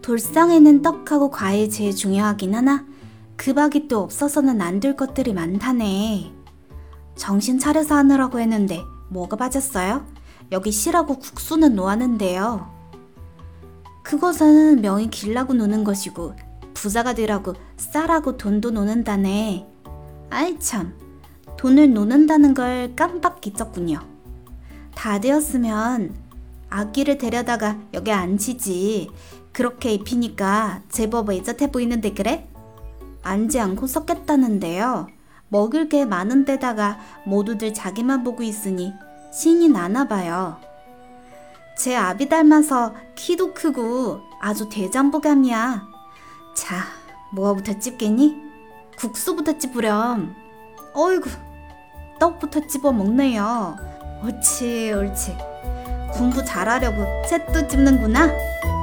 돌상에는 떡하고 과일 제일 중요하긴 하나 그 밥이 또 없어서는 안 될 것들이 많다네. 정신 차려서 하느라고 했는데 뭐가 빠졌어요? 여기 시라고 국수는 놓았는데요. 그것은 명이 길라고 노는 것이고 부자가 되라고 쌀하고 돈도 노는다네. 아이 참, 돈을 노는다는 걸 깜빡 잊었군요. 다 되었으면 아기를 데려다가 여기 앉히지. 그렇게 입히니까 제법 애젓해 보이는데 그래? 앉지 않고 썩겠다는데요. 먹을 게 많은 데다가 모두들 자기만 보고 있으니 신이 나나 봐요. 제 아비 닮아서 키도 크고 아주 대장보감이야. 자, 뭐부터 찝겠니? 국수부터 찝으렴. 어이구, 떡부터 찝어 먹네요. 옳지, 옳지. 공부 잘하려고 채도 찝는구나.